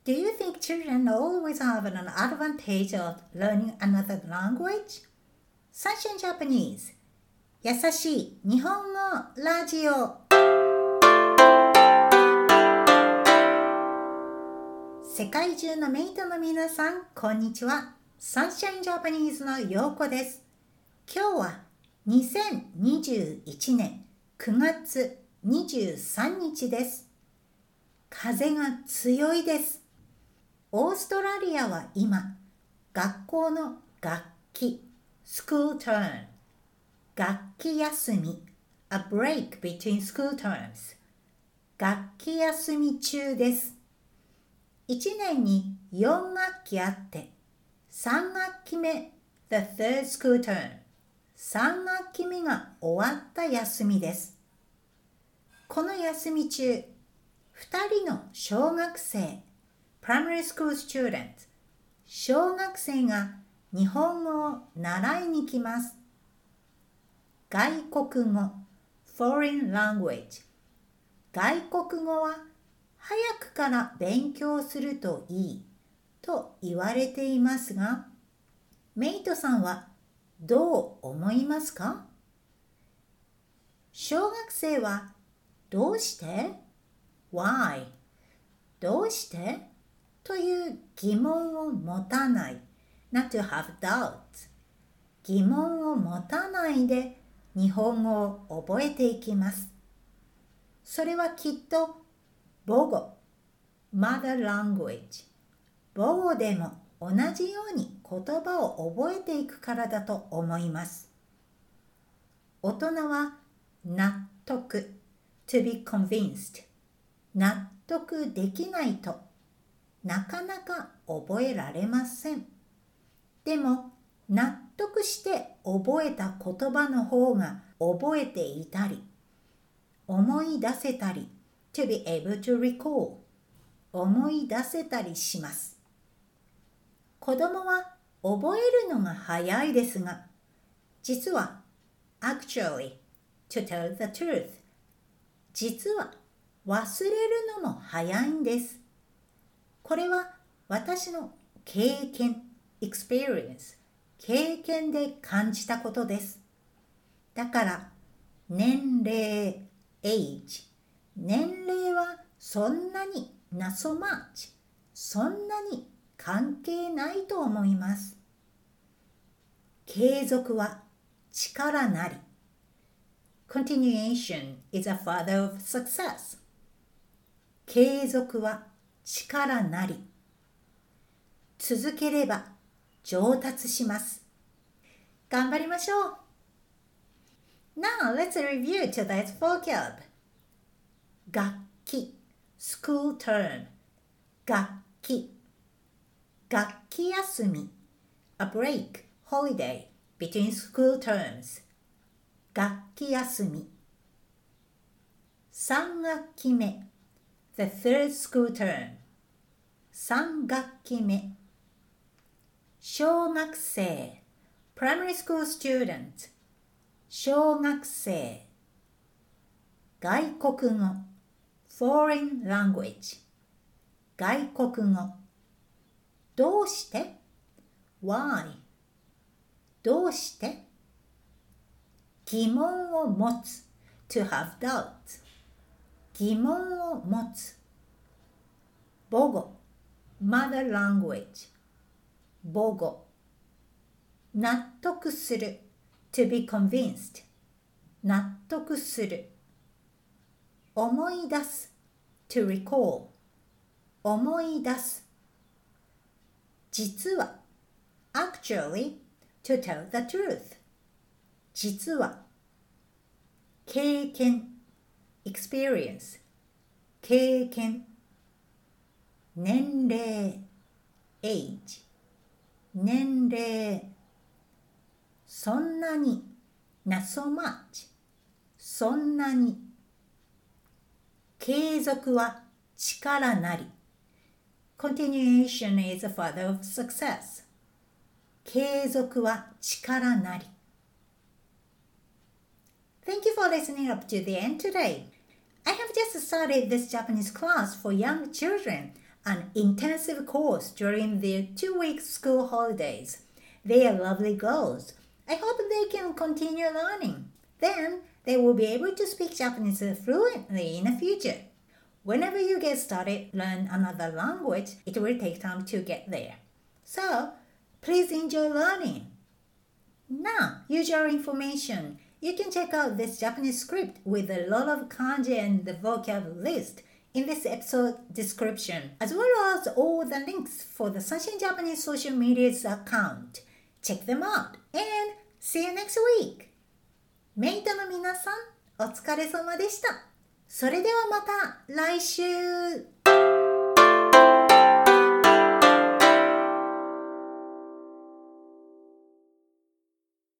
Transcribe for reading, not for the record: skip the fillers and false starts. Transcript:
Do you think children always have an advantage of learning another language? Sunshine Japanese 優しい日本語ラジオ。世界中のメイトの皆さん、こんにちは。Sunshine Japanese のようこです。今日は2021年9月23日です。風が強いです。オーストラリアは今、学校の学期、school term、学期休み、a break between school terms、学期休み中です。1年に4学期あって、3学期目、the third school term、3学期目が終わった休みです。この休み中、2人の小学生、primary school students、小学生が日本語を習いに来ます。外国語、foreign language。外国語は早くから勉強するといいと言われていますが、メイトさんはどう思いますか？小学生はどうして？ Why？ どうして？という疑問を持たない。Not to have doubts。疑問を持たないで日本語を覚えていきます。それはきっと母語、mother language。母語でも同じように言葉を覚えていくからだと思います。大人は納得、to be convinced。納得できないとなかなか覚えられません。でも、納得して覚えた言葉の方が覚えていたり、思い出せたり、to be able to recall、思い出せたりします。子供は覚えるのが早いですが、実は、actually, to tell the truth、実は忘れるのも早いんです。これは私の経験、experience、経験で感じたことです。だから、年齢、age、年齢はそんなにnot so much、そんなに関係ないと思います。継続は力なり。Continuation is a father of success。継続は力なり。続ければ上達します。頑張りましょう。Now let's review today's vocab. 学期 school term 学期学期休み a break, holiday between school terms 学期休み3学期目 the third school term 3学期目小学生 primary school student 小学生外国語 foreign language 外国語どうして why どうして疑問を持つ to have doubt 疑問を持つ母語 mother language 母語納得する to be convinced 納得する思い出す to recall 思い出す実は actually to tell the truth 実は経験 experience 経験年齢 age 年齢そんなに not so much そんなに継続は力なり Continuation is a father of success 継続は力なり Thank you for listening up to the end today. I have just started this Japanese class for young children. an intensive course during their 2-week school holidays. They are lovely girls. I hope they can continue learning. Then they will be able to speak Japanese fluently in the future. Whenever you get started, learn another language, it will take time to get there. So, please enjoy learning. Now, usual information. You can check out this Japanese script with a lot of kanji and the vocab list in this episode description, as well as all the links for the Sunshine Japanese social media's account. Check them out and see you next week! メイトの皆さん、お疲れ様でした。それではまた来週